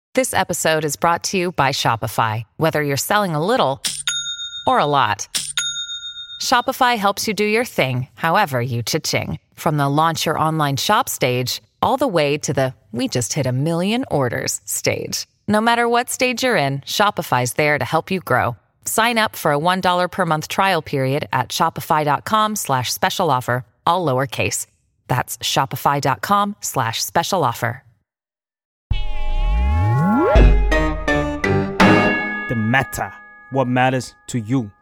This episode is brought to you by Shopify. Whether you're selling a little or a lot, Shopify helps you do your thing, however you cha-ching. From the launch your online shop stage, all the way to the we just hit 1 million orders stage. No matter what stage you're in, Shopify's there to help you grow. Sign up for a $1 per month trial period at shopify.com/special offer, all lowercase. That's shopify.com/special offer. The matter. What matters to you?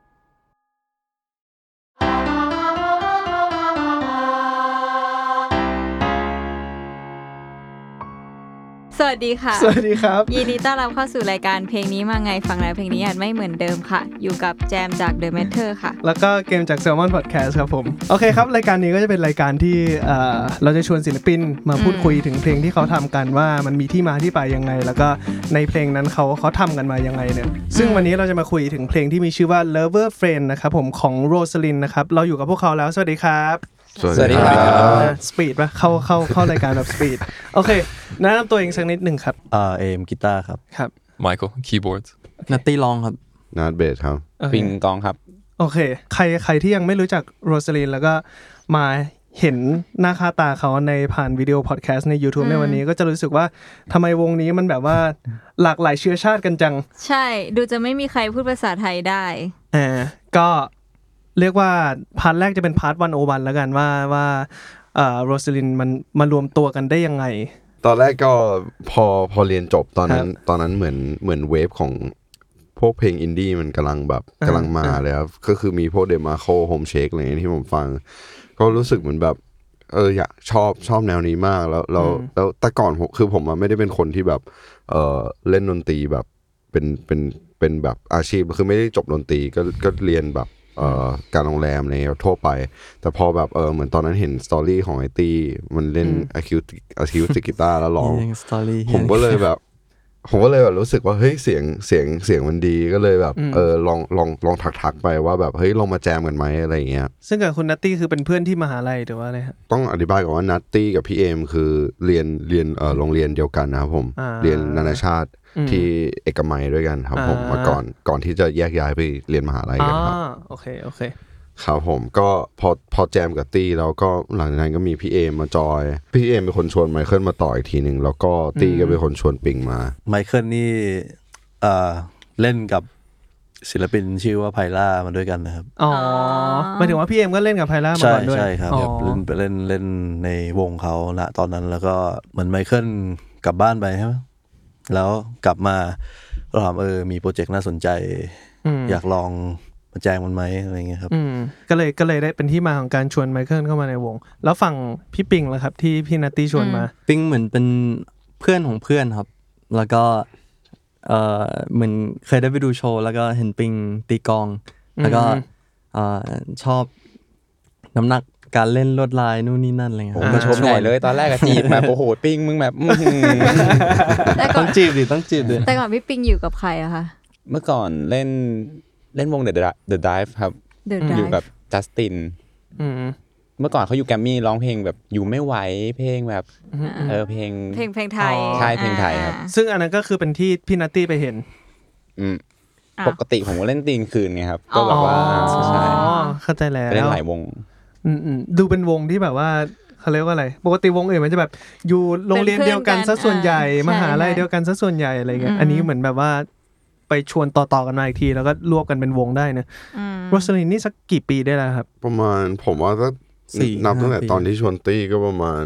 สวัสดีค่ะสวัสดีครับยินดีต้อนรับเข้าสู่รายการเพลงนี้มาไงฟังแล้วเพลงนี้อาจไม่เหมือนเดิมค่ะอยู่กับแจมจาก The Matter ค่ะแล้วก็เกมจาก Salmon Podcast ครับผมโอเคครับรายการนี้ก็จะเป็นรายการที่เราจะชวนศิลปินมาพูดคุยถึงเพลงที่เขาทำกันว่ามันมีที่มาที่ไปยังไงแล้วก็ในเพลงนั้นเขาทำกันมายังไงเนี่ยซึ่งวันนี้เราจะมาคุยถึงเพลงที่มีชื่อว่า Lover Friend นะครับผมของ Rosalind นะครับเราอยู่กับพวกเขาแล้วสวัสดีครับสวัสดีครับสปีดป่ะเข้ารายการแบบสปีดโอเคแนะนำตัวเองสักนิดนึงครับเอมกีตาร์ครับครับ Michael keyboards นัตตี้ร้องครับนัทเบสครับปิงกองครับโอเคใครที่ยังไม่รู้จักโรสลินแล้วก็มาเห็นหน้าค่าตาเขาในผ่านวิดีโอพอดแคสต์ใน YouTube ในวันนี้ก็จะรู้สึกว่าทำไมวงนี้มันแบบว่าหลากหลายเชื้อชาติกันจังใช่ดูจะไม่มีใครพูดภาษาไทยได้ก็เรียกว่าพาร์ทแรกจะเป็นพาร์ท101แล้วกันว่าโรสลินมันมารวมตัวกันได้ยังไงตอนแรกก็พอเรียนจบตอนนั้นเหมือนเวฟของพวกเพลงอินดี้มันกำลังมาเลยครับก็คือมีพวกเดมาโคโฮมเชคอะไรที่ผมฟังก็รู้สึกเหมือนแบบอยากชอบแนวนี้มากแล้วแต่ก่อนคือผมไม่ได้เป็นคนที่แบบเล่นดนตรีแบบเป็นแบบอาชีพคือไม่ได้จบดนตรีก็เรียนแบบการโรงแรมอะไรทั่วไปแต่พอแบบเหมือนตอนนั้นเห็นสตอรี่ของไอตี้มันเล่นอะคิวติกกีตาร์แล้วร้องผมก็เลยแบบรู้สึกว่าเฮ้ยเสียงมันดีก็เลยแบบลองทักไปว่าแบบเฮ้ยลองมาแจมกันไหมอะไรอย่างเงี้ยซึ่งกับคุณนัตตี้คือเป็นเพื่อนที่มหาลัยหรือว่าอะไรครับต้องอธิบายก่อนว่านัตตี้กับพี่เอมคือเรียนโรงเรียนเดียวกันนะครับผมเรียนนานาชาติที่เอกมัยด้วยกันครับผมมาก่อนที่จะแยกย้ายไปเรียนมหาลัยกันครับโอเคครับผมก็พอแจมกับตี้แล้วก็หลังจากนั้นก็มีพี่เอมมาจอยพี่เอมเป็นคนชวนไมเคิลมาต่ออีกทีนึงแล้วก็ตี้ก็เป็นคนชวนปิงมาไมเคิลนี่เล่นกับศิลปินชื่อว่าไพล่ามาด้วยกันนะครับหมายถึงว่าพี่เอมก็เล่นกับไพล่ามาก่อนด้วยใช่ครับเล่นในวงเขาณตอนนั้นแล้วก็เหมือนไมเคิลกลับบ้านไปใช่ไหมแล้วกลับมาเราถามมีโปรเจกต์น่าสนใจอยากลองมาแจ้งมันไหมอะไรเงี้ยครับก็เลยได้เป็นที่มาของการชวนไมเคิลเข้ามาในวงแล้วฝั่งพี่ปิงล่ะครับที่พี่นัตตี้ชวนมาปิงเหมือนเป็นเพื่อนของเพื่อนครับแล้วก็เหมือนเคยได้ไปดูโชว์แล้วก็เห็นปิงตีกลองแล้วก็ชอบน้ำหนักการเล่นลวดลายนู่นนี่นั่นอะไรเงี้ยผมก็ชมใหญ่เลยตอนแรกก็จีบแบบโอ้โหปิงมึงแบบต้องจีบดิแต่ก่อนพี่ปิงอยู่กับใครอะคะเมื่อก่อนเล่นวง The Dive ครับอยู่กับจัสตินเมื่อก่อนเขาอยู่แกรมมี่ร้องเพลงแบบอยู่ไม่ไหวเพลงแบบเพลงไทยใช่เพลงไทยครับซึ่งอันนั้นก็คือเป็นที่พี่นัตตี้ไปเห็นปกติผมก็เล่นตีนคืนไงครับก็แบบว่าใช่เข้าใจแล้วเล่นหลายวงดูเป็นวงที่แบบว่าเขาเรียกว่าอะไรปกติวงอื่นมันจะแบบอยู่โรงเรียนเดียวกันซะส่วนใหญ่มหาลัยเดียวกันซะส่วนใหญ่อะไรเงี้ยอันนี้เหมือนแบบว่าไปชวนต่อกันมาอีกทีแล้วก็รวบกันเป็นวงได้นะโรสลินนี่สักกี่ปีได้แล้วครับประมาณผมว่าก็นับตั้งแต่ตอนที่ชวนตี้ก็ประมาณ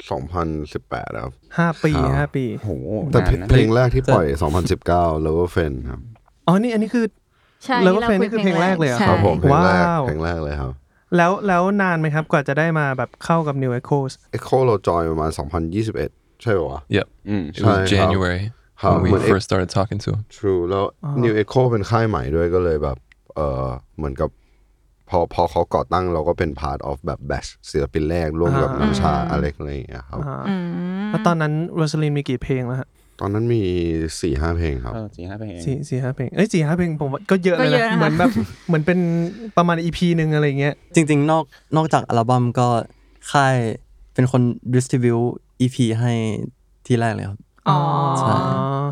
2018ครับ 5 ปีโหแต่เพลงแรกที่ปล่อย2019 Lover Friend ครับอันนี้คือใช่ Lover Friend นี่คือเพลงแรกเลยอ่ะครับผมเพลงแรกเลยครับแล้วนานไหมครับกว่าจะได้มาแบบเข้ากับ New Echoes Echo เราจอยประมาณ2021ใช่ป่ะ Yep it was January when we first started talking to him True แล้ว New Echo เป็นค่ายใหม่ด้วยก็เลยแบบเหมือนกับพอเขาก่อตั้งเราก็เป็น part of แบบ batch ศิลปินแรกร่วมกับน้ำชาอเล็กอะไรอย่างเงี้ยครับแล้วตอนนั้นโรสลินมีกี่เพลงแล้วฮะตอนนั้นมี 4-5 เพลงครับ 4-5 เพลง 4-5 เพลง4-5 เพลงผมว่าก็เยอะเลยนะเหมือนแบบเหมือนเป็นประมาณ EP นึงอะไรเงี้ยจริงๆนอกจากอัลบั้มก็ค่ายเป็นคน distribute EP ให้ที่แรกเลยครับใช่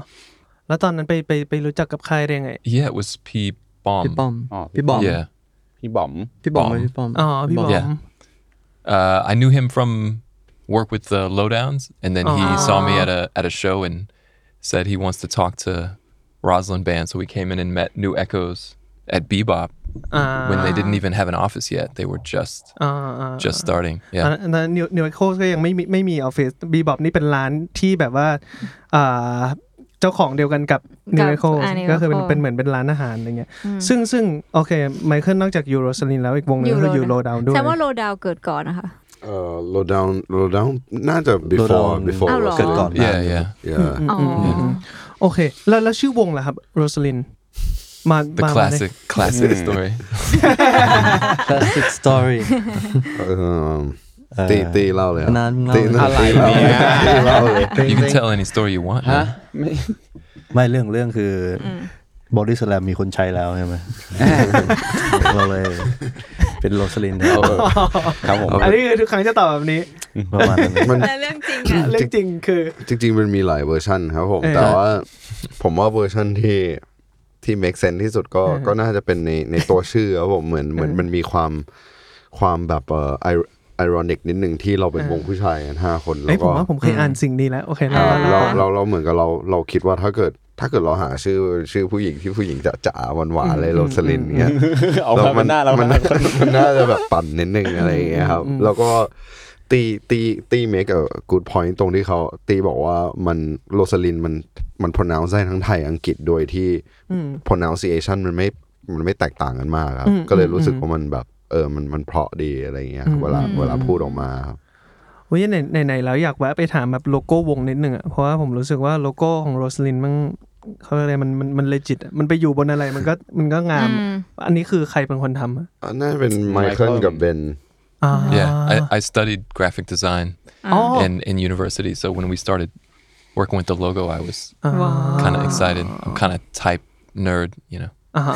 แล้วตอนนั้นไปรู้จักกับค่ายได้ไง Yeah, it was P Bomb. พี่ป้อมพี่บอม Yeah. พี่บอมพี่บอมพี่ป้อมอ๋อพี่บอม Yeah. I knew him from work with the Lowdowns, and then he saw me at a show and said he wants to talk to Roslyn Band. So we came in and met New Echoes at Bebop when they didn't even have an office yet. They were just starting. Yeah. แล้วNew Echoes ก็ยังไม่มีออฟฟิศ Bebop นี่เป็นร้านที่แบบว่าเจ้าของเดียวกันกับ New Echoes ก็คือเป็นเหมือนเป็นร้านอาหารอะไรเงี้ยซึ่งโอเคไมเคิลนอกจากยูโรสลินแล้วอีกวงนึงคือยูโรดาวด้วยแต่ว่าโลดาวเกิดก่อนนะคะ low down น่าจะ before เกิดก่อน Yeah. โอเคแล้วชื่อวงล่ะครับโรสลินมา The classic story. classic story ตีเล่าเลยนานตีอะไรเนี่ยเล่าเลย You can tell any story you want. ฮะไม่เรื่องคือบอดี้สแลมมีคนใช้แล้วใช่ไหมเราเลยเป็นโรสลินครับผมอันนี้คือทุกครั้งจะตอบแบบนี้ประมาณนั้นแต่เรื่องจริงอะเรื่องจริงคือจริงๆมันมีหลายเวอร์ชันครับผมแต่ว่าผมว่าเวอร์ชันที่ make sense ที่สุดก็น่าจะเป็นในตัวชื่อครับผมเหมือนมันมีความแบบironic นิดนึงที่เราเป็นวงผู้ชายกัน5คนแล้วก็ผมว่าผมเคยอ่านสิ่งนี้แล้วโอเคเราเหมือนกับเราคิดว่าถ้าเกิดเราหาชื่อผู้หญิงที่ผู้หญิงจ๋าหวานๆเลยโรสลินเงี้ยมันน่าจะแบบปั่นนิดนึงอะไรอย่างเงี้ยครับแล้วก็ตีเมคกูดพอยต์ตรงที่เขาตีบอกว่ามันโรสลินมัน pronounce ได้ทั้งไทยอังกฤษโดยที่ pronunciation มันไม่แตกต่างกันมากครับก็เลยรู้สึกว่ามันแบบมันเพราะดีอะไรเงี้ยเวลาพูดออกมาครับวันนี้ไหนแล้วอยากแวะไปถามแบบโลโก้วงนิดนึงอ่ะเพราะว่าผมรู้สึกว่าโลโก้ของโรสลินเขาอะไรมันเลจิตมันไปอยู่บนอะไรมันก็งามอันนี้คือใครเป็นคนทำน่าจะเป็นไมเคิลกับเบน Yeah, I studied graphic design in university. So when we started working with the logo, I was kind of excited. I'm kind of type nerd, you know.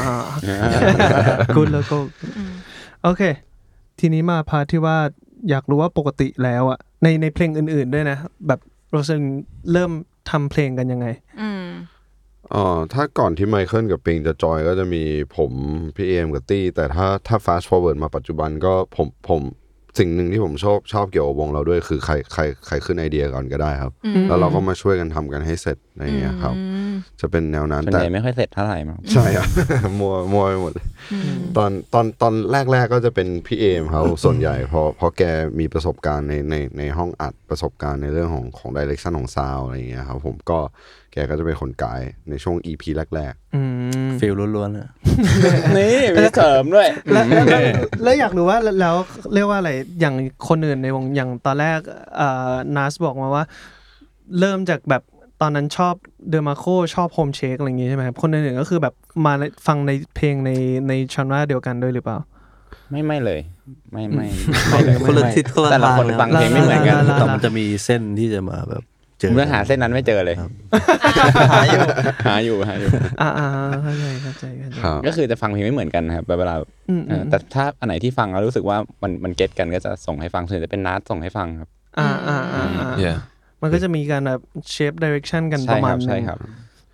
Good logo. โอเคทีนี้มาพาร์ทที่ว่าอยากรู้ว่าปกติแล้วอ่ะในเพลงอื่นๆด้วยนะแบบโรสลินเริ่มทำเพลงกันยังไงถ้าก่อนที่ไมเคิลกับปิงจะจอยก็จะมีผมพี่เอมกับตี้แต่ถ้า fast forward มาปัจจุบันก็ผมสิ่งหนึ่งที่ผมชอบเกี่ยวกับวงเราด้วยคือใครขึ้นไอเดียก่อนก็ได้ครับแล้วเราก็มาช่วยกันทำกันให้เสร็จอะไรอย่างเงี้ยครับจะเป็นแนวนั้นแต่ไม่ค่อยเสร็จเท่าไหร่มั้งใช่ครับ มัวไปหมดตอนแรกก็จะเป็นพี่เอมเขาส่วนใหญ่พอแกมีประสบการณ์ในห้องอัดประสบการณ์ในเรื่องของ direction ของซาวด์อะไรอย่างเงี้ยครับผมก็แกก็จะเป็นคนไกด์ในช่วง EP แรกๆฟีลล้วนๆเลยนี่มีเสริมด้วยแล้วอยากรู้ว่าแล้วเรียกว่าอะไรอย่างคนอื่นในวงอย่างตอนแรกนัสบอกมาว่าเริ่มจากแบบตอนนั้นชอบเดอร์มาโคชอบโฮมเชคอะไรอย่างงี้ใช่ไหมครับคนอื่นๆก็คือแบบมาฟังในเพลงในชันราเดียวกันด้วยหรือเปล่าไม่เลยไม่คนละทิศคนละทางแต่ละคนฟังเพลงไม่เหมือนกันแต่มันจะมีเส้นที่จะมาแบบเมื่อหาเส้นนั้นไม่เจอเลยหาอยู่เข้าใจก็คือจะฟังเพลงไม่เหมือนกันครับเวลาแต่ถ้าอันไหนที่ฟังแล้วรู้สึกว่ามันเก็ตกันก็จะส่งให้ฟังส่วนจะเป็นนัดส่งให้ฟังครับมันก็จะมีการแบบเชฟไดเรคชั่นกันประมาณนึงใช่ครับ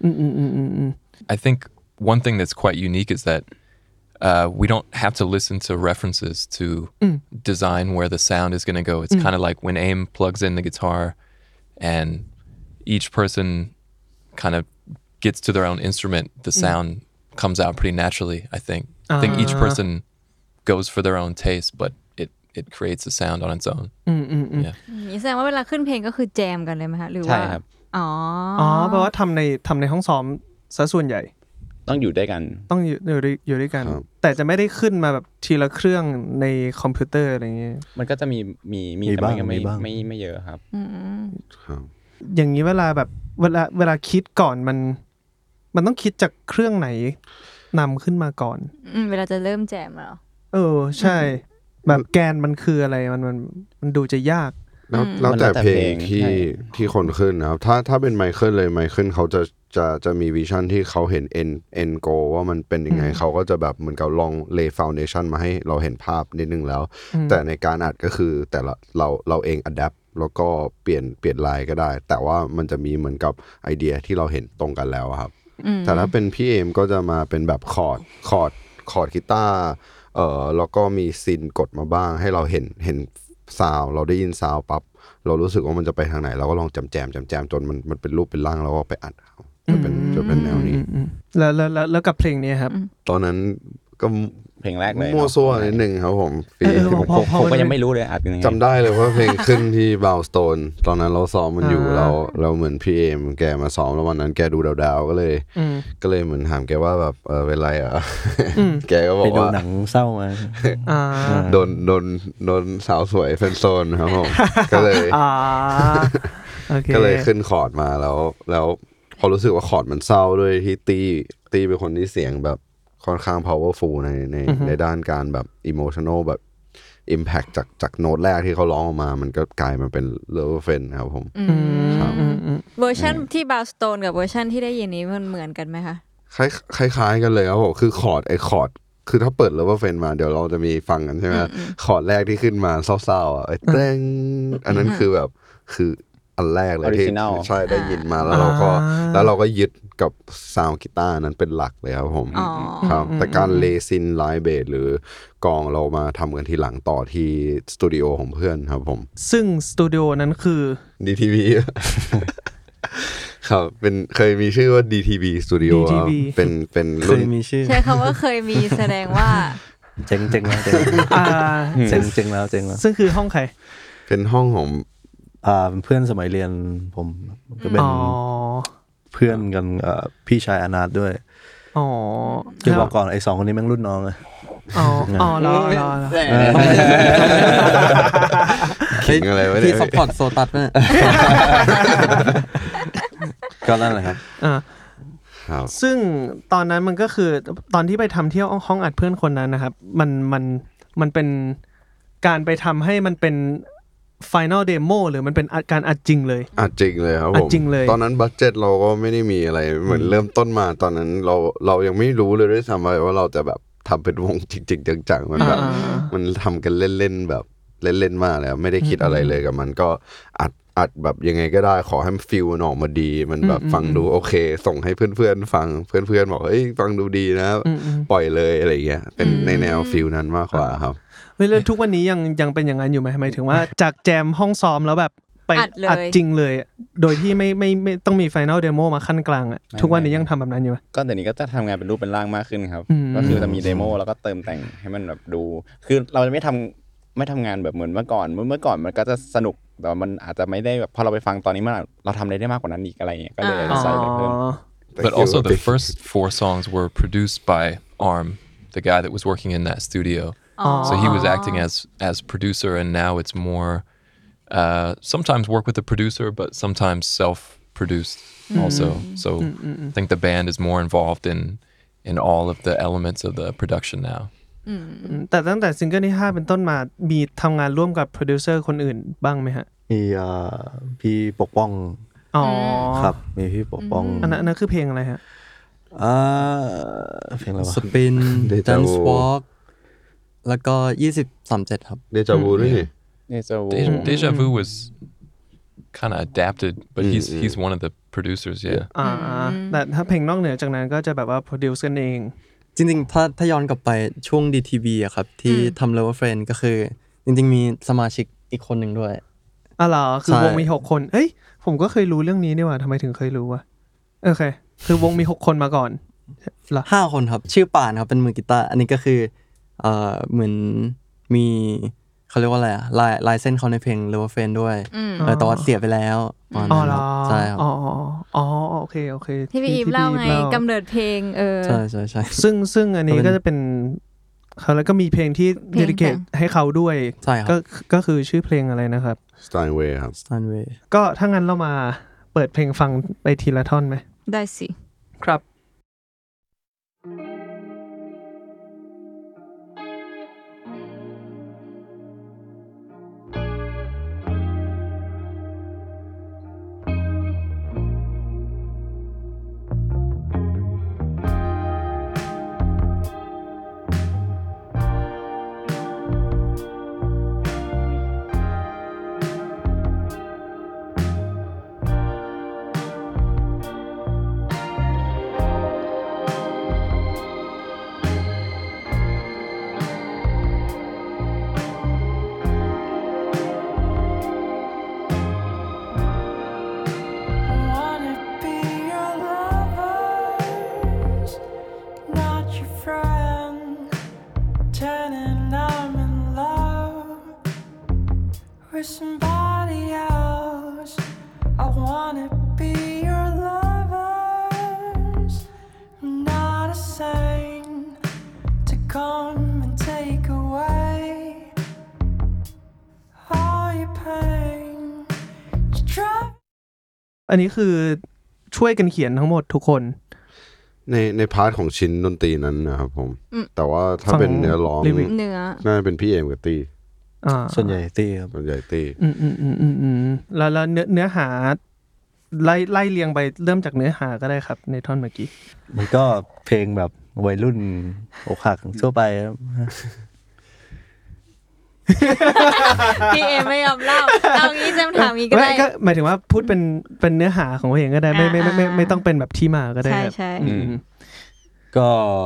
I think one thing that's quite unique is that we don't have to listen to references to design where the sound is going to go. It's kind of like when Aim plugs in the guitar and each person kind of gets to their own instrument, the sound comes out pretty naturally, I think. I think each person goes for their own taste, but it creates a sound on its own. นี่แสดงว่าเวลาขึ้นเพลงก็คือแจมกันเลยไหมคะหรือว่าใช่ครับเพราะว่าทำในห้องซ้อมซะส่วนใหญ่ต้องอยู่ด้วยกันต้องอยู่ด้วยกันแต่จะไม่ได้ขึ้นมาแบบทีละเครื่องในคอมพิวเตอร์อะไรอย่างเงี้ยมันก็จะมีแต่มันก็ไม่เยอะครับอย่างนี้เวลาแบบเวลาคิดก่อนมันต้องคิดจากเครื่องไหนนำขึ้นมาก่อนเวลาจะเริ่มแจมแล้วใช่แบบแกนมันคืออะไรมันดูจะยากแล้วแต่เพลงที่คนขึ้นนะครับถ้าเป็นไมเคิลเลยไมเคิลเขาจะมีวิชั่นที่เขาเห็น end goal ว่ามันเป็นยังไงเขาก็จะแบบเหมือนกับลอง lay foundation มาให้เราเห็นภาพนิดนึงแล้วแต่ในการอัดก็คือแต่ละเราเอง adapt แล้วก็เปลี่ยนลายก็ได้แต่ว่ามันจะมีเหมือนกับไอเดียที่เราเห็นตรงกันแล้วครับแต่ถ้าเป็นพี่เอมก็จะมาเป็นแบบคอร์ดกีตาร์แล้วก็มีซินกดมาบ้างให้เราเห็นซาวเราได้ยินซาวปั๊บเรารู้สึกว่ามันจะไปทางไหนเราก็ลองแจมจนมันเป็นรูปเป็นร่างแล้วก็ไปอัดจะเป็นแนวนี้แล้วกับเพลงนี้ครับตอนนั้นก็เพลงแรกเลยมั่วซั่วนิดนึงครับผมผมก็ยังไม่รู้เลยอัดยังไงจำได้เลยว่าเพลงขึ้นที่บาวสโตนตอนนั้นเราซ้อมมันอยู่เราเหมือนพี่เอมแกมาซ้อมแล้ววันนั้นแกดูดาวๆก็เลยเหมือนถามแกว่าแบบเป็นไรอ่ะแกก็บอกว่าหนังเศร้ามาโดนสาวสวยเฟนโซนครับผมก็เลยขึ้นคอร์ดมาแล้วพอรู้สึกว่าคอร์ดมันเศร้าด้วยที่ตีเป็นคนที่เสียงแบบค่อนข้าง powerful ในด้านการแบบ emotional แบบ impact จากโน้ตแรกที่เขาร้องออกมามันก็กลายมาเป็น Lover Friend ครับผมครับเวอร์ชันที่ Bowstone กับเวอร์ชันที่ได้ยินนี้มันเหมือนกันไหมคะคล้ายๆกันเลยครับผมคือคอร์ดคือถ้าเปิด Lover Friend มาเดี๋ยวเราจะมีฟังกันใช่ไหมคอร์ดแรกที่ขึ้นมาเศร้าๆไอ้เต้งอันนั้นคือแบบคืออันแรกเลยที่ใช่ได้ยินมาแล้วเราก็ยึดกับซาวด์กีตาร์นั้นเป็นหลักเลยครับผมครับแต่การเลซินไลฟ์เบสหรือกองเรามาทำกันทีหลังต่อที่สตูดิโอของเพื่อนครับผมซึ่งสตูดิโอนั้นคือ DTV ครับเป็นเคยมีชื่อว่า DTV Studio เป็นรุ่นมีชื่อใช้คำว่าเคยมีแสดงว่าเจ๋งแล้วเจ๋งแล้วซึ่งคือห้องใครเป็นห้องของเพื่อนสมัยเรียนผมก็เป็นเพื่อนกันพี่ชายอนาถด้วยจะบอกก่อนไอ้2คนนี้แม่งรุ่นน้องเลยรอคิดอะไรไว้ที่ซัพพอร์ตโซตัสเนี่ยก็นั่นแหละครับซึ่งตอนนั้นมันก็คือตอนที่ไปทำเที่ยวห้องอัดเพื่อนคนนั้นนะครับมันเป็นการไปทำให้มันเป็นFinal Demo หรือมันเป็นการอัดจริงเลยอัดจริงเลยครับผมตอนนั้นบัดเจ็ตเราก็ไม่ได้มีอะไรเหมือนเริ่มต้นมาตอนนั้นเรายังไม่รู้เลยด้วยซ้ำว่าเราจะแบบทำเป็นวงจริงๆจังๆมันแบบมันทำกันเล่นๆแบบเล่นๆมากเลยไม่ได้คิดอะไรเลยกับมันก็อัดแบบยังไงก็ได้ขอให้มันฟีลมันออกมาดีมันแบบฟังดูโอเคส่งให้เพื่อนๆฟังเพื่อนๆบอกเฮ้ยฟังดูดีนะปล่อยเลยอะไรเงี้ยเป็นในแนวฟีลนั้นมากกว่าครับแล้วทุกวันนี้ยังเป็นอย่างนั้นอยู่ไหมหมายถึงว่าจากแจมห้องซ้อมแล้วแบบไปอัดจริงเลยโดยที่ไม่ต้องมี Final Demo มาขั้นกลางอ่ะทุกวันนี้ยังทำแบบนั้นอยู่ไหมก็เดี๋ยวนี้ก็จะทำงานเป็นรูปเป็นร่างมากขึ้นครับก็คือจะมีเดโมแล้วก็เติมแต่งให้มันแบบดูคือเราจะไม่ทำงานแบบเหมือนเมื่อก่อนมันก็จะสนุกแต่มันอาจจะไม่ได้แบบพอเราไปฟังตอนนี้เราทำอะไรได้มากกว่านั้นอีกอะไรอย่างเงี้ยก็เลยใส่เพิ่ม But also the first 4 songs were produced by Arm, the guy that was working in that studio.So he was acting as producer, and now it's more sometimes work with the producer, but sometimes self-produced also. So I think the band is more involved in all of the elements of the production now. แต่ตั้งแต่ซิงเกิลที่5เป็นต้นมามีทำงานร่วมกับโปรดิวเซอร์คนอื่นบ้างไหมฮะมีพี่ปกป้องครับมีพี่ปกป้องอันนั้นคือเพลงอะไรฮะเพลงอะไรวะ Spin Dance Walkแล้วก็2037ครับ Deja Vu ด้วยนี่ Deja Vu was kind of adapted but he's one of the producers yeah แต่ถ้าเพลงนอกเหนือจากนั้นก็จะแบบว่าโปรดิวซ์กันเองจริงๆถ้าย้อนกลับไปช่วง DTV อะครับที่ทำ Lover Friend ก็คือจริงๆมีสมาชิกอีกคนหนึ่งด้วยเหรอคือวงมี6คนเฮ้ยผมก็เคยรู้เรื่องนี้นี่หว่าทำไมถึงเคยรู้วะโอเคคือวงมี6คนมาก่อนเหรอ5คนครับชื่อป่านครับเป็นมือกีตาร์อันนี้ก็คือเหมือนมีเขาเรียกว่าอะไรอะลายเส้นเขาในเพลง Lover Friend ด้วยแต่ว่าเสียไปแล้วใช่ครับโอเคที่พี่อีฟเล่าไงกำเนิดเพลงใช่ซึ่งอันนี้ก็จะเป็นเขาแล้วก็มีเพลงที่ dedicate ให้เขาด้วยก็คือชื่อเพลงอะไรนะครับ Steinway ครับ Steinway ก็ถ้างั้นเรามาเปิดเพลงฟังไปทีละท่อนไหมได้สิครับอันนี้คือช่วยกันเขียนทั้งหมดทุกคนในพาร์ทของชิ้นดนตรีนั้นนะครับผมแต่ว่าถ้าเป็นเนื้อร้องน่าจะเป็นพี่เอมกับตี้ส่วนใหญ่ตี้ครับส่วนใหญ่ตี้แล้วเนื้อหาไล่เรียงไปเริ่มจากเนื้อหาก็ได้ครับในท่อนเมื่อกี้มันก็เพลงแบบวัยรุ่นอกหักทั่วไปครับพี่เอไม่ยอมเล่าเอางี้จะถามอีกก็ได้ก็หมายถึงว่าพูดเป็นเนื้อหาของเพลงก็ได้ไม่ต้องเป็นแบบที่มาก็ได้ใช่ก็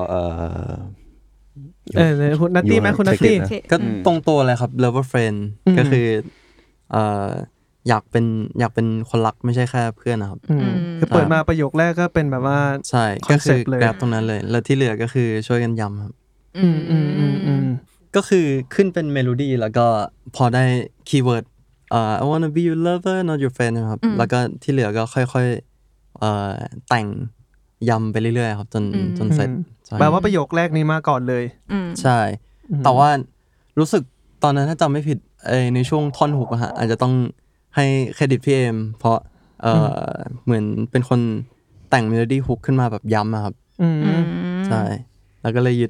คุณนัตตี้ไหมคุณนัตตี้ก็ตรงตัวเลยครับ lover friend ก็คืออยากเป็นคนรักไม่ใช่แค่เพื่อนนะครับคือเปิดมาประโยคแรกก็เป็นแบบว่าใช่ก็คือแกร็บตรงนั้นเลยแล้วที่เหลือก็คือช่วยกันย้ำครับก็คือขึ้นเป็นเมโลดี้แล้วก็พอได้คีย์เวิร์ดI wanna be your lover not your friend นะครับแล้วก็ที่เหลือก็ค่อยๆแต่งย้ำไปเรื่อยๆครับจนเสร็จแปลว่าประโยคแรกนี้มาก่อนเลยใช่แต่ว่ารู้สึกตอนนั้นถ้าจำไม่ผิดในช่วงท่อนฮุกอะฮะอาจจะต้องให้เครดิตพี่เอมเพราะเหมือนเป็นคนแต่งเมโลดี้ฮุกขึ้นมาแบบย้ำครับใช่แล้วก็เลยยึด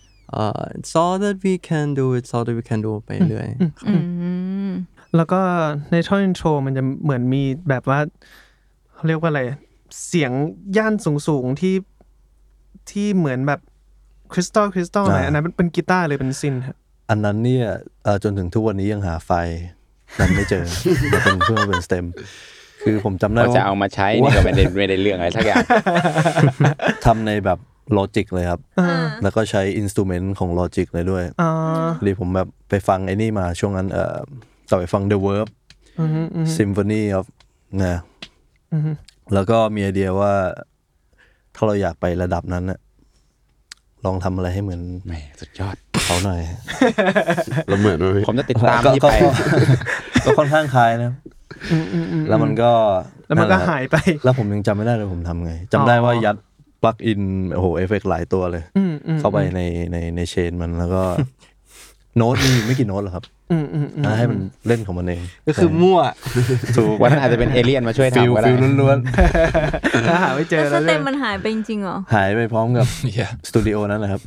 it's all that we can do it's all that we can do ไปเรื่อยแล้วก็ในท่อนอินโทรมันจะเหมือนมีแบบว่าเขาเรียกว่าอะไรเสียงย่านสูงที่เหมือนแบบคริสตัลอะไรอันนั้นเป็นกีตาร์เลยเป็นซินครับอันนั้นเนี่ยจนถึงทุกวันนี้ยังหาไฟนั้นไม่เจอเป็นเพื่อเป็นสเต็มคือผมจำได้ว่าจะเอามาใช้นี่ก็ไม่ได้เรื่องอะไรสักอย่างทำในแบบลอจิกเลยครับแล้วก็ใช้อินสตูเมนต์ของลอจิกเลยด้วยเลยผมแบบไปฟังไอ้นี่มาช่วงนั้นต่อไปฟัง The Verb Symphony of นะแล้วก็มีไอเดียว่าถ้าเราอยากไประดับนั้นนะลองทำอะไรให้เหมือนสุดยอดเขาหน่อยเราเหมือนไหมผมจะติดตามที่ไปก็ค่อนข้างคล้ายนะแล้วมันก็หายไปแล้วผมยังจำไม่ได้เลยผมทำไงจำได้ว่ายัดปลั๊กอินโอ้โหเอฟเฟกต์หลายตัวเลยเข้าไปในเชนมันแล้วก็โน้ตมีไม่กี่โน้ตหรอกครับให้มันเล่นของมันเองก็คือมั่วถูกวันนั้นอาจจะเป็นเอเลี่ยนมาช่วยทำก็ได้ฟิลล้วนๆถ้าหาไม่เจอแล้วสเต็มมันหายไปจริงๆเหรอหายไปพร้อมกับสตูดิโอนั้นแหละครับ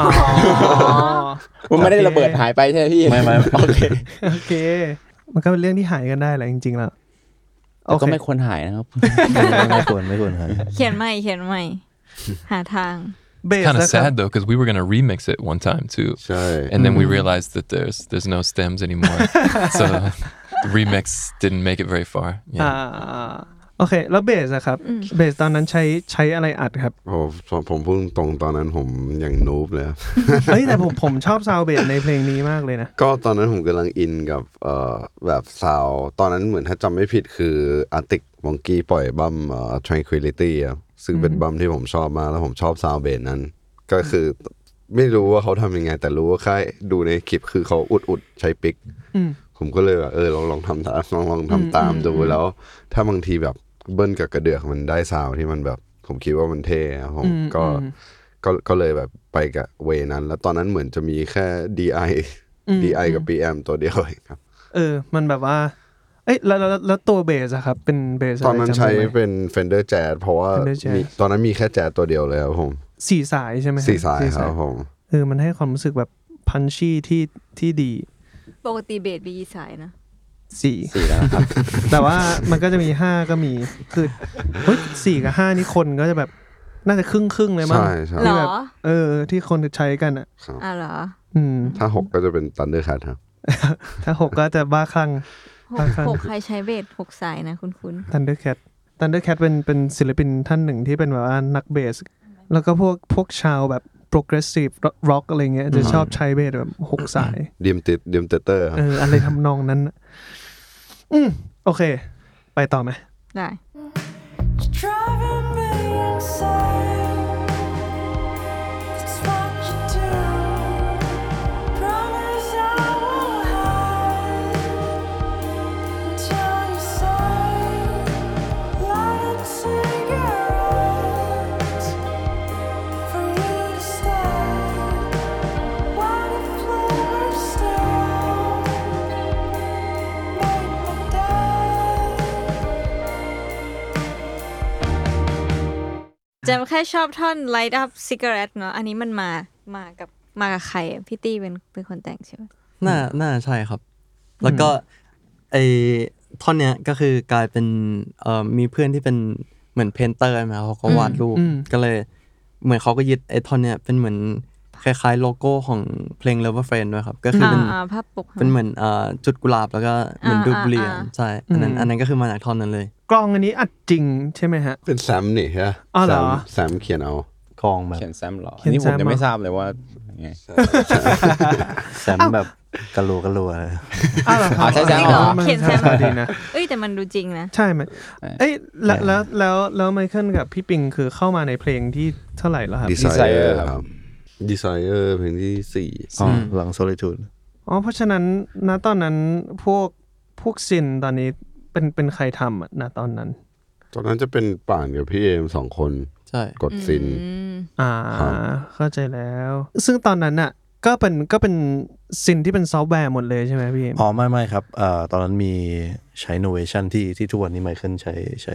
มันไม่ได้ระเบิดหายไปใช่ไหมพี่ไม่โอเคมันก็เป็นเรื่องที่หายกันได้แหละจริงๆแล้วก็ไม่ควรหายนะครับไม่ควรหายเขียนใหม่หาทาง Kind of sad though, because we were gonna remix it one time too, and then we realized that there's no stems anymore, so the remix didn't make it very far. โอเคแล้วเบสอะครับเบสตอนนั้นใช้อะไรอัดครับผมพูดตรงตอนนั้นผมยังนูบเลยเฮ้ยแต่ผมชอบซาวด์เบสในเพลงนี้มากเลยนะก็ตอนนั้นผมกำลังอินกับแบบซาวด์ตอนนั้นเหมือนถ้าจำไม่ผิดคือ Arctic Monkey ปล่อยบัมTranquility ครับซึ่งเป็นบัมที่ผมชอบมากแล้วผมชอบซาวด์เบสนั้นก็คือไม่รู้ว่าเขาทำยังไงแต่รู้ว่าแค่ดูในคลิปคือเขาอุดใช้ปิกผมก็เลยแบบลองทำตามดูแล้วถ้าบางทีแบบเบิ้ลกับกระเดือกมันได้ซาวที่มันแบบผมคิดว่ามันเท่ผมก็เลยแบบไปกับเวนั้นแล้วตอนนั้นเหมือนจะมีแค่ DI กับ PM ตัวเดียวเองครับมันแบบว่าแล้วตัวเบสอะครับเป็นเบสตอนนั้นใช้เป็น Fender Jazz เพราะว่าตอนนั้นมีแค่แจ๊สตัวเดียวเลยครับผม 4 สายใช่ไหม 4 สายครับผมมันให้ความรู้สึกแบบพันชี่ที่ดีปกติเบสมีกี่สายนะ 4แล้วครับแต่ว่ามันก็จะมี5ก็มีคือ4กับ5นี่คนก็จะแบบน่าจะครึ่งเลยมั้งที่แบบที่คนใช้กันอะเหรอถ้า6ก็จะเป็น Thundercat ครับถ้า6ก็จะบ้าคลั่ง 6ใครใช้เบส6สายนะคุ้นๆ Thundercat เป็นศิลปินท่านหนึ่งที่เป็นแบบว่านักเบสแล้วก็พวกชาวแบบ progressive rock อะไรเงี้ยจะชอบใช้เบสแบบ6สายดิมเตอร์อะไรทำนองนั้นโอเคไปต่อไหมได้จำแค่ชอบท่อน light up cigarette เนาะอันนี้มันมากับใครอ่ะพี่ตี้เป็นคนแต่งใช่ไหมน่าใช่ครับแล้วก็ไอ้ท่อนเนี้ยก็คือกลายเป็นมีเพื่อนที่เป็นเหมือนเพนเตอร์มาเขาก็วาดรูปก็เลยเหมือนเขาก็ยึดไอ้ท่อนเนี้ยเป็นเหมือนคล้ายๆโลโก้ของเพลง Lover Friend ด้วยครับก็คือเป็นภาพปกเป็นเหมือนจุดกุหลาบแล้วก็เหมือนรูปเรียนใช่อันนั้นก็คือมาจากท่อนนั้นเลยกลองอันนี้อัดจริงใช่ไหมฮะเป็นแซมนี่ฮะแซมเขียนเอากลองแบบเขียนแซมหรอนี่ผมยังไม่ทราบเลยว่าไงแซมแบบกะโลใช่ใช่เขียนแซมดีนะแต่มันดูจริงนะใช่ไหมแล้วไมเคิลกับพี่ปิงคือเข้ามาในเพลงที่เท่าไหร่แล้วครับ Desire ครับ Desire เพลงที่4 หลัง Solitude เพราะฉะนั้นณตอนนั้นพวกซินตอนนี้เป็นใครทำอ่ะณตอนนั้นจะเป็นป่านกับพี่เอม2คนใช่กดซินเข้าใจแล้วซึ่งตอนนั้นน่ะก็เป็นซินที่เป็นซอฟต์แวร์หมดเลยใช่ไหมพี่ไม่ครับตอนนั้นมีใช้ Novation ที่ทุกวันนี้ไมเคิลใช้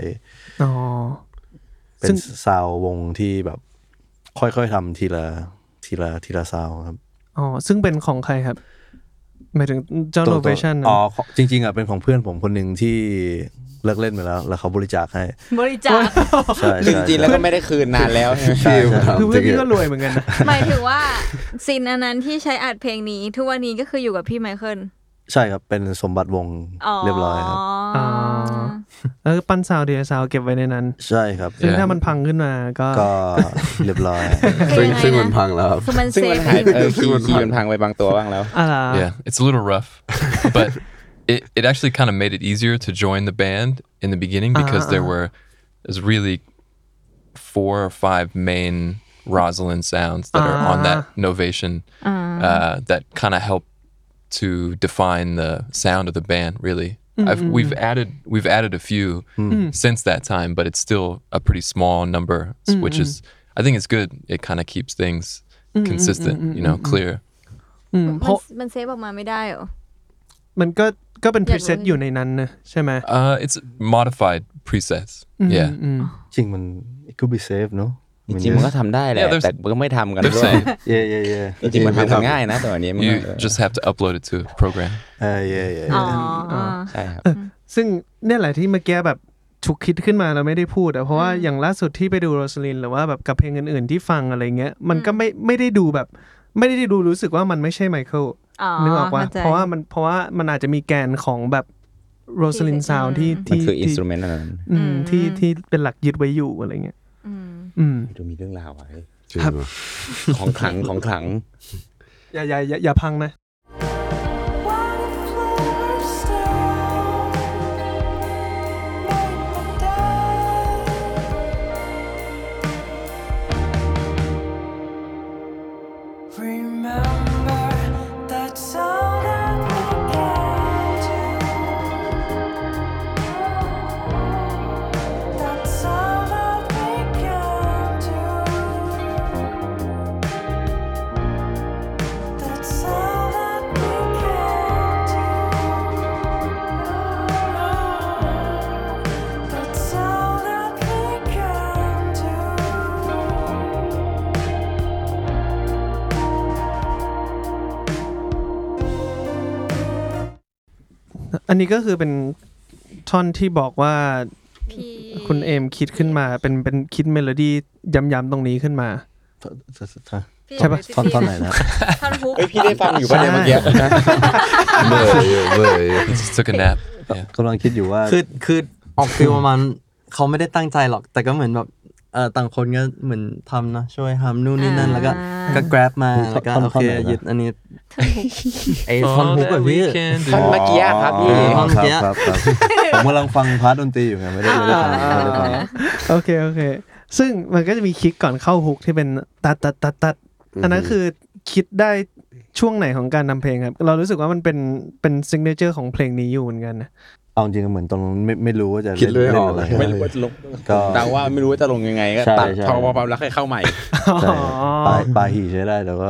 เป็นซาววงที่แบบค่อยๆทำทีละซาวครับซึ่งเป็นของใครครับหมายถึงเจ้า Novation จริงๆเป็นของเพื่อนผมคนหนึ่งที่เลิกเล่นไปแล้วเขาบริจาคให้บริจาคใช่จริงๆแล้วก็ไม่ได้คืนนานแล้วใช่คือเพื่อนพี่ก็รวยเหมือนกันหมายถึงว่าซินอันนั้นที่ใช้อัดเพลงนี้ทุกวันนี้ก็คืออยู่กับพี่ไมเคิลใช่ครับเป็นสมบัติวงเรียบร้อยครับปั้นซาวเดียซาวเก็บไว้ในนั้นใช่ครับซึ่งถ้ามันพังขึ้นมาก็เรียบร้อยซึ่งมันพังแล้วครับซึ่งมันหายคีย์มันพังไปบางตัวบ้างแล้ว Yeah it's a little rough but it actually kind of made it easier to join the band in the beginning because there's really 4 or 5 main Rosalind sounds that are on that Novation that kind of help to define the sound of the band really. We've added a few since that time, but it's still a pretty small number, which is I think it's good. It kind of keeps things consistent, clear. มันเซฟออกมาไม่ได้หรอมันก็เป็น preset อยู่ในนั้นนะใช่ไหม it's modified presets yeah จริงมัน it could be saved เนอะจริงมันก็ทำได้แหละแต่ก็ไม่ทำกันด้วยจริงมันทำง่ายนะแต่วันนี้ you just have to upload it to a program ใช่ครับซึ่งเนี่ยแหละที่เมื่อกี้แบบฉุกคิดขึ้นมาเราไม่ได้พูดเพราะว่าอย่างล่าสุดที่ไปดูโรสลินหรือว่าแบบกับเพลงอื่นๆที่ฟังอะไรเงี้ยมันก็ไม่ได้ดูแบบไม่ได้ดูรู้สึกว่ามันไม่ใช่ไมเคิลนึกออกว่าเพราะว่ามันอาจจะมีแกนของแบบโรสลินซาวด์ที่มันคืออินสตรูเมนต์นั้นที่เป็นหลักยึดไว้อยู่อะไรเงี้ยดูมีเรื่องราวไว้ครับของขลังอย่าพังนะอันนี้ก็คือเป็นท่อนที่บอกว่าคุณเอมคิดขึ้นมาเป็นคิดเมโลดี้ย้ำๆตรงนี้ขึ้นมาใช่ปะท่อนไหนนะท่อนฮุกพี่ได้ฟังอยู่ป่ะเนี่ยเมื่อกี้เบย just took a nap กำลังคิดอยู่ว่าคือออกฟีลประมาณเขาไม่ได้ตั้งใจหรอกแต่ก็เหมือนแบบต่างคนก็เหมือนทำนะช่วยทำนู่นนี่นั่นแล้วก็ grab มาแล้วก็โอเคยึดอันนี้ไอ้ท่อนฮุกแบบพี่ท่อนเมื่อกี้ครับพี่ท่อนเมื่อกี้ผมกำลังฟังพาร์ทดนตรีอยู่ไงไม่ได้ฟังโอเคซึ่งมันก็จะมีคิกก่อนเข้าฮุกที่เป็นตัดอันนั้นคือคิดได้ช่วงไหนของการนำเพลงครับเรารู้สึกว่ามันเป็นซิกเนเจอร์ของเพลงนี้อยู่เหมือนกันนะเอาจริงเหมือนตอนไม่รู้ว่าจะเล่นอะไรไม่รู้ว่าจะลงก็เดาว่าไม่รู้ว่าจะลงยังไงก็ตัดพอแล้วค่อยเข้าใหม่ปลายหีใช้ได้แต่ว่าโอเค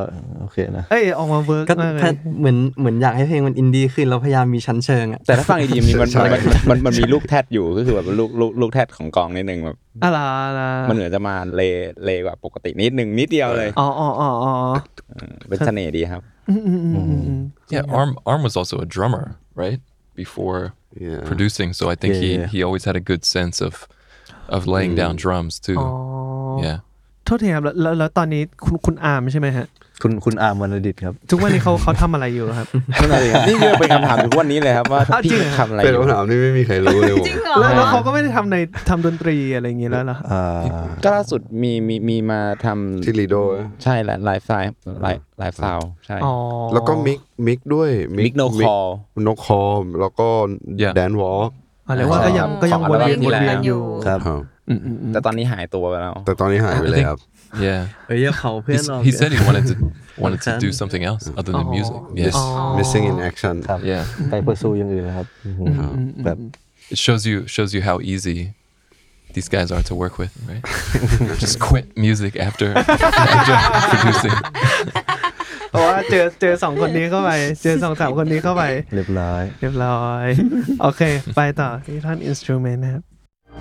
เคนะเอ้ยออกมาเวิร์กก็มากเลยเหมือนอยากให้เพลงมันอินดี้ขึ้นแล้วพยายามมีชั้นเชิงอ่ะแต่ถ้าฟังดีๆมันมีลูกแทดอยู่ก็คือแบบลูกแทดของกองนิดนึงแบบอะไรมันเหมือนจะมาเลกว่าปกตินิดเดียวเลยอ๋อเป็นเสน่ห์ดีครับ Yeah, Arm was also a drummer, right? Before producing, so I think he always had a good sense of laying down drums too. Yeah. โทษทีครับแล้วตอนนี้คุณอาร์มใช่ไหมฮะคุณอาร์มวรรณดิษฐ์ครับทุกวันนี้เขาทำอะไรอยู่ครับนี่เป็นคำถามทุกวันนี้เลยครับว่าพี่ทำอะไรอเป็นยู่คำถามที่ไม่มีใครรู้เลยผมแล้วเขาก็ไม่ได้ทำดนตรีอะไรอย่างงี้แล้วเหรอก็ล่าสุดมีมาทำที่ลีโดใช่ไลฟ์สไตล์ใช่แล้วก็มิกด้วยมิกโนคอลแล้วก็แดนวอล์กอะไรว่าก็ยังวนเวียนอยู่ครับแต่ตอนนี้หายตัวไปแล้วแต่ตอนนี้หายไปเลยครับ Yeah. เขาเพื่อนเรา He said he wanted to do something else other than music. Yes. missing in action Yeah. ไปเพื่อสู้อย่างอื่นนะครับแบบ It shows you how easy these guys are to work with, right? Just quit music after producing. เพราะว่าเจอ2คนนี้เข้าไปเจอ2-3คนนี้เข้าไปเรียบร้อยโอเคไปต่อที่ท่อนอินสตรูเมนต์นะครับ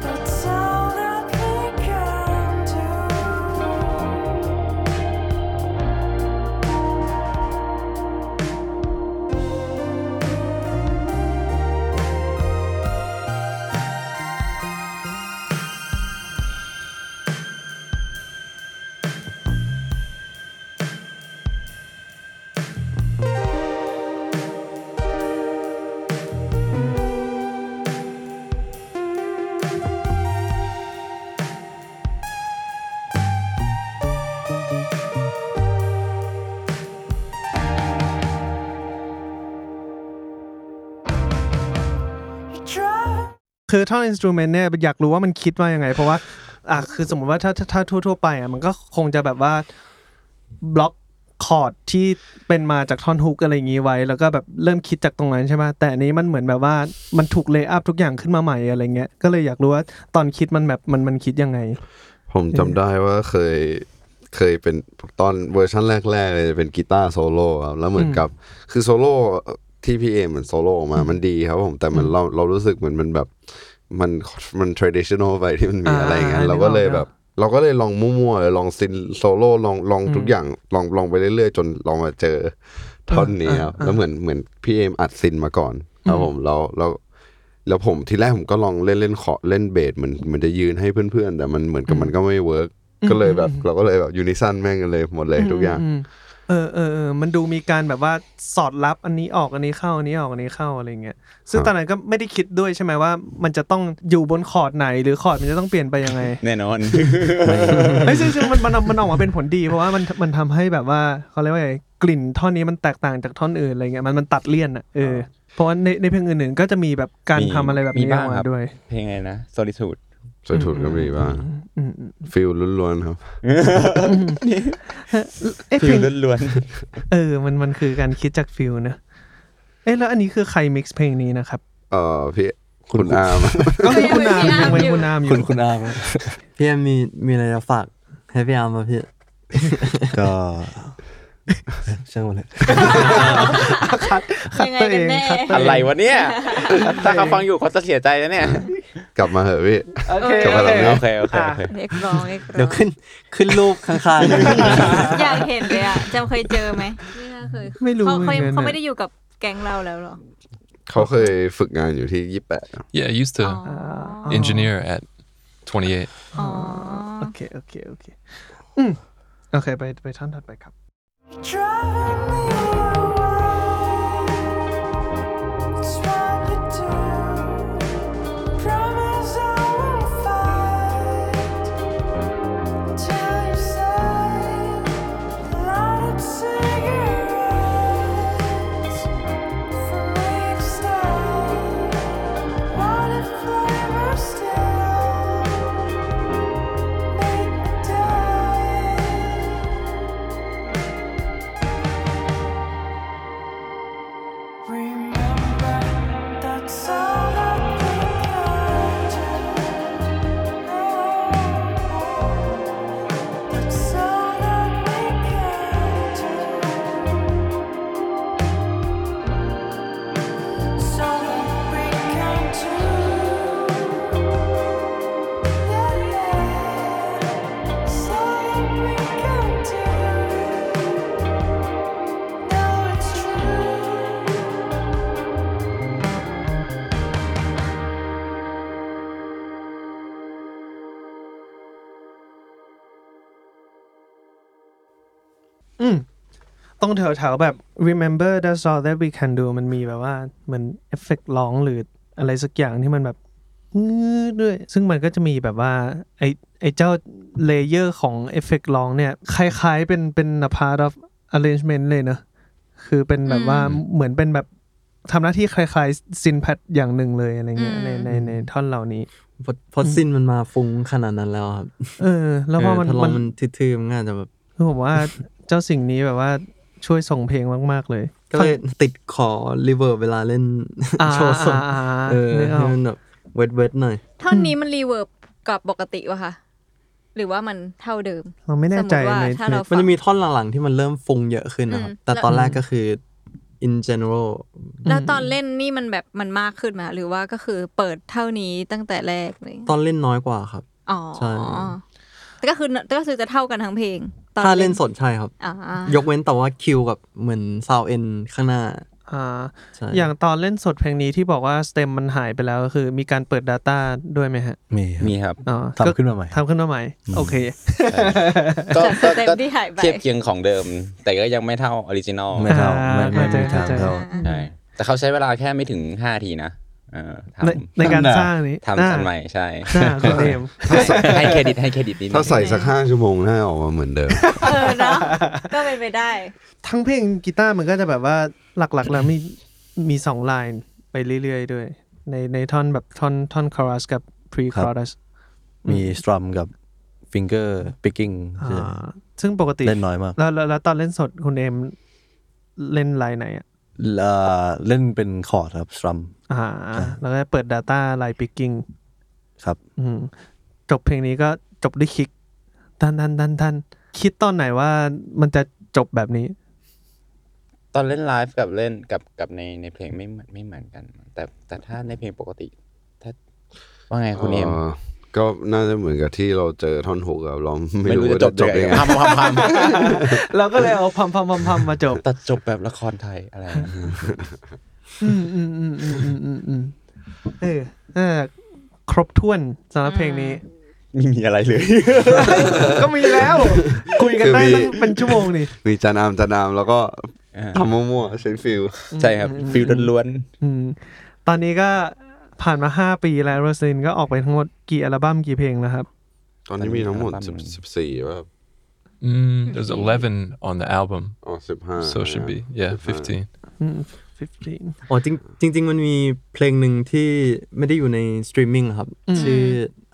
คือท่อนอินสตรูเมนต์เนี่ยอยากรู้ว่ามันคิดว่ายังไงเพราะว่าคือสมมติว่าถ้าทั่วๆไปมันก็คงจะแบบว่าบล็อกคอร์ดที่เป็นมาจากท่อนฮุกอะไรอย่างงี้ไว้แล้วก็แบบเริ่มคิดจากตรงนั้นใช่ไหมแต่อันนี้มันเหมือนแบบว่ามันถูกเลย์อัพทุกอย่างขึ้นมาใหม่อะไรเงี้ยก็เลยอยากรู้ว่าตอนคิดมันแบบมันคิดยังไงผมจำได้ว่าเคยเป็นตอนเวอร์ชันแรกๆเลยเป็นกีตาร์โซโล่ครับแล้วเหมือนกับคือโซโล่ที่พี่เหมือนโซโล่ออกมามันดีครับผมแต่มันเรารู้สึกเหมือนมันแบบมัน traditional ไปที่มันมีอะไรอย่างเงี้ยเราก็เลยลองมั่วๆเลยลองซินโซโล่ลองทุกอย่างลองไปเรื่อยๆจนลองมาเจอท่อนนี้ครับแล้วเหมือนพี่อัดซินมาก่อนครับผมแล้วผมทีแรกผมก็ลองเล่นขอเล่นเบสมันจะยืนให้เพื่อนๆแต่มันเหมือนกับมันก็ไม่เวิร์กก็เลยแบบเราก็เลยแบบยูนิซันแม่งกันเลยหมดเลยทุกอย่างมันดูมีการแบบว่าสอดรับอันนี้ออกอันนี้เข้าอันนี้ออกอันนี้เข้าอะไรเงี้ยซึ่งตอนนั้นก็ไม่ได้คิดด้วยใช่ไหมว่ามันจะต้องอยู่บนคอร์ดไหนหรือคอร์ดมันจะต้องเปลี่ยนไปยังไงแน่นอนไม่ซึ่งมันออกมาเป็นผลดีเพราะว่ามันทำให้แบบว่าเขาเรียกว่าไงกลิ่นท่อนนี้มันแตกต่างจากท่อนอื่นอะไรเงี้ยมันตัดเลี่ยนอ่ะเพราะว่าในเพลงอื่นๆก็จะมีแบบการทำอะไรแบบนี้ออกมาด้วยเพลงอะไรนะ Solitude ก็มีบ้างฟีลล้วนๆครับฟีลล้วนๆมันคือการคิดจากฟีลนะแล้วอันนี้คือใครมิกซ์เพลงนี้นะครับพี่คุณอาร์มก็คือคุณอาร์มยังเป็นคุณอาร์มอยู่คุณอาร์มพี่แอมมีอะไรจะฝากให้พี่อาร์มป่ะพี่ก็ช่างมันเลยยังไงกันแน่อะไรวะเนี่ยถ้าเขาฟังอยู่เขาจะเสียใจนะเนี่ยกลับมาเหอะพี่โอเคเอ็กซ์ร้องเดี๋ยวขึ้นรูปข้างๆอยากเห็นเลยอ่ะจำเคยเจอไหมไม่รู้เขาไม่ได้อยู่กับแก๊งเราแล้วหรอเขาเคยฝึกงานอยู่ที่28 Yeah I used to engineer at 28 โอเคโอเคไปท่อนถัดไปครับต้องแถวๆแบบ remember that's all that we can do มันมีแบบว่าเหมือนเอฟเฟกต์ร้องหรืออะไรสักอย่างที่มันแบบด้วยซึ่งมันก็จะมีแบบว่าไอเจ้าเลเยอร์ของเอฟเฟกต์ร้องเนี่ยคล้ายๆเป็น a part of arrangement เลยเนอะคือเป็นแบบว่าเหมือนเป็นแบบทำหน้าที่คล้ายๆซินแพดอย่างหนึ่งเลยอะไรเงี้ยในท่อนเหล่านี้พอซินมันมาฟุ้งขนาดนั้นแล้วครับแล้วพอมันทื่อๆมันง่ายจะแบบคือผมว่าเจ้าสิ่งนี้แบบว่าช่วยส่งเพลงมากๆเลยก็เลยติดขอรีเวิร์บเวลาเล่นโชว์สดให้มันแบบเวทหน่อยท่อนนี้มันรีเวิร์บกับปกติวะคะหรือว่ามันเท่าเดิมเราไม่แน่ใจมันจะมีท่อนหลังๆที่มันเริ่มฟุ้งเยอะขึ้นนะครับแต่ตอนแรกก็คือ in general แล้วตอนเล่นนี่มันแบบมันมากขึ้นมาหรือว่าก็คือเปิดเท่านี้ตั้งแต่แรกเลยตอนเล่นน้อยกว่าครับใช่แต่ก็คือจะเท่ากันทั้งเพลงถ้าเล่นสดใช่ครับยกเว้นแต่ว่าคิวกับเหมือนซาวเอ็นข้างหน้าอย่างตอนเล่นสดเพลงนี้ที่บอกว่าสเต็มมันหายไปแล้วก็คือมีการเปิด Data ด้วยไหมฮะมีครับทำขึ้นมาใหม่โอเคก็เทียบเคียงของเดิมแต่ก็ยังไม่เท่าออริจินอลไม่เท่าไม่ทางเท่าใช่แต่เขาใช้เวลาแค่ไม่ถึง5 นาทีนะในการสร้างนี้ทำอันใหม่ใช่คุณเอมให้เครดิตนิดถ้าใส่สัก5 ชั่วโมงน่าออกมาเหมือนเดิมเนาะก็เป็นไปได้ทั้งเพลงกีตาร์มันก็จะแบบว่าหลักๆแล้วมี2ไลน์ไปเรื่อยๆด้วยในท่อนแบบท่อนคอรัสกับพรีคอรัสมีสตรัมกับฟิงเกอร์ปิกกิ้งซึ่งปกติเล่นน้อยมากแล้วตอนเล่นสดคุณเอมเล่นไลน์ไหนอ่ะเล่นเป็นคอร์ดครับสตรัมแล้วก็เปิด Data ไลน์ปิกกิ้งครับจบเพลงนี้ก็จบด้วยคิกทันคิดตอนไหนว่ามันจะจบแบบนี้ตอนเล่นไลฟ์กับเล่นกับในเพลงไม่เหมือนกันแต่ถ้าในเพลงปกติถ้าว่าไงคุณเอมก็น่าจะเหมือนกับที่เราเจอท่อนฮุกเราไม่รู้จะจบยังไงพัมเราก็เลยเอาพัมมาจบตัดจบแบบละครไทยอะไรครบถ้วนสำหรับเพลงนี้ไม่มีอะไรเลยก็มีแล้วคุยกันได้ตั้งเป็นชั่วโมงนี่มีจานามแล้วก็ทำมั่วๆใช้ฟิลใช่ครับฟิลล้วนๆตอนนี้ก็ผ่านมา5 ปีแล้วโรสลินก็ออกไปทั้งหมดกี่อัลบั้มกี่เพลงแล้วครับตอนนี้มีทั้งหมด14ป่ะ there's 11 on the album 15 so it should be 15อ๋อจริงมันมีเพลงหนึ่งที่ไม่ได้อยู่ในสตรีมมิ่งครับชื่อ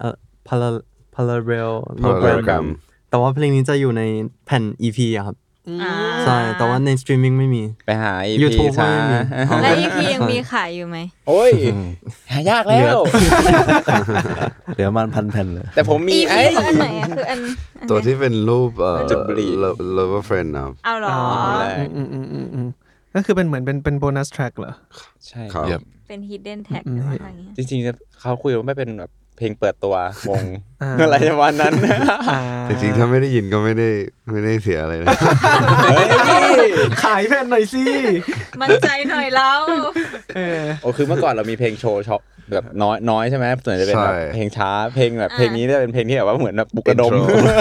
Parallel แต่ว่าเพลงนี้จะอยู่ในแผ่น EP อะครับใช่แต่ว่าในสตรีมมิ่งไม่มีไปหา EP YouTube ซะแล้ว EP ยังมีขายอยู่ไหมโอ้ยหายากแล้วเดี๋ยวมัน1,000 แผ่นเลยแต่ผมมีอันไหนคืออันตัวที่เป็นรูปLover Friend นะเอาหรอก็คือเป็นเหมือนเป็นโบนัสแทร็กเหรอใช่ครับเป็น hidden tag อะไรอย่างเงี้ยจริงๆเขาคุยว่าไม่เป็นแบบเพลงเปิดตัววงอะไรประมาณนั้นจริงๆถ้าไม่ได้ยินก็ไม่ได้เสียอะไรนะขายแผ่นหน่อยสิมั่นใจหน่อยแล้วโอ้คือเมื่อก่อนเรามีเพลงโชว์ช็อปแบบน้อยใช่ไหมส่วนใหญ่จะเป็นแบบเพลงช้าเพลงแบบเพลงนี้จะเป็นเพลงที่แบบว่าเหมือนแบบปลุกระดม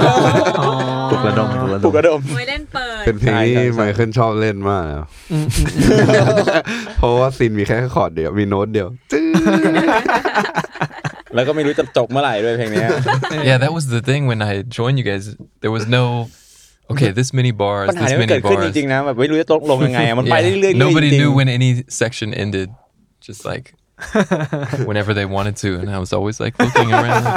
ไว้เล่นเปิดเป็นเพลงที่ไมเคิลชอบเล่นมากเพราะว่าซินมีแค่คอร์ดเดียวมีโน้ตเดียวแล้วก็ไม่รู้จะจบเมื่อไหร่ด้วยเพลงนี้ Yeah, that was the thing when I joined you guys. There was no okay, this many bars, this many bars. จริงๆนะแบบไม่รู้จะตกลงยังไงมันไปเรื่อยๆ Nobody knew when any section ended. Just like whenever they wanted to, and I was always like looking around.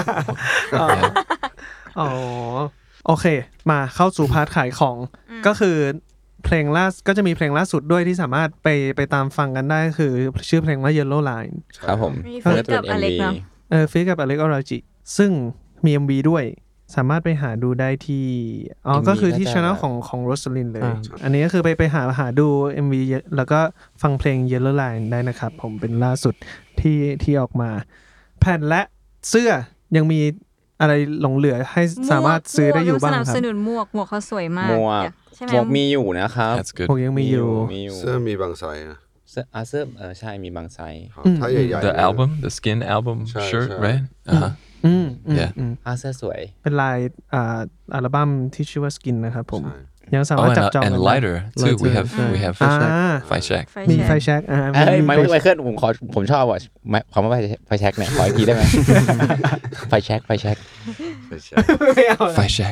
อ๋อโอเคมาเข้าสู่พาร์ทขายของก็คือเพลงล่าก็จะมีเพลงล่าสุดด้วยที่สามารถไปตามฟังกันได้คือชื่อเพลงว่า Yellow Line ครับผมฟีดกับอเล็กเนาะฟีดกับอเล็กออราจิซึ่งมี MV ด้วยสามารถไปหาดูได้ที่ก็คือที่ channel ของโรสลินเลยอันนี้ก็คือไปหาดู MV แล้วก็ฟังเพลง Yellow Line ได้นะครับผมเป็นล่าสุดที่ออกมาแผ่นและเสื้อยังมีอะไรหลงเหลือให้สามารถซื้อได้อยู่บ้างครับสนับสนุนหมวกเขาสวยมากหมวกมีอยู่นะครับหมวกยังมีอยู่เสื้อมีบางไซส์นะเสื้อใช่มีบางไซส์ถ้าใหญ่ๆ The album the skin album shirt right yeah เสื้อสวยเป็นลายอัลบั้มที่ชื่อว่า Skin นะครับผมยังสามารถจับจอง and lighter too. We have Five Shack. มีไฟแช็กไมเคิลผมชอบว่ะคำว่าไฟแช็กเนี่ยขออีกทีได้ไหมไฟแช็ก Five Shack.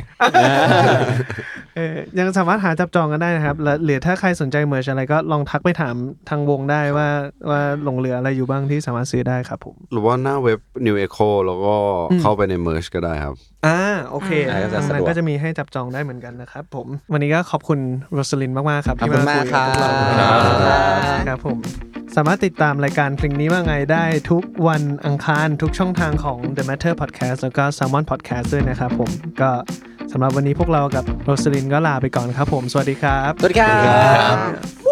ยังสามารถหาจับจองกันได้นะครับหรือถ้าใครสนใจเมอร์ชอะไรก็ลองทักไปถามทางวงได้ว่าหลงเหลืออะไรอยู่บ้างที่สามารถซื้อได้ครับผมหรือว่าหน้าเว็บ New Echo แล้วก็เข้าไปใน Merch ก็ได้ครับโอเคมันก็จะมีให้จับจองได้เหมือนกันนะครับผมวันนี้ก็ขอบคุณโรสลินมากๆครับที่มาคุยกับพวกเราครับผมสามารถติดตามรายการเพลงนี้ว่าไงได้ทุกวันอังคารทุกช่องทางของ The Matter Podcast แล้วก็ Salmon Podcast ด้วยนะครับผมก็สำหรับวันนี้พวกเรากับโรสลินก็ลาไปก่อนครับผมสวัสดีครับสวัสดีครับ